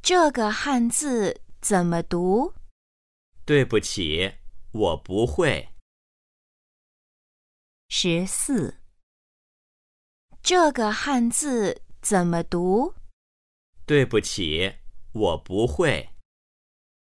这个汉字怎么读？ 对不起，我不会。 14。这个汉字怎么读？ 对不起，我不会。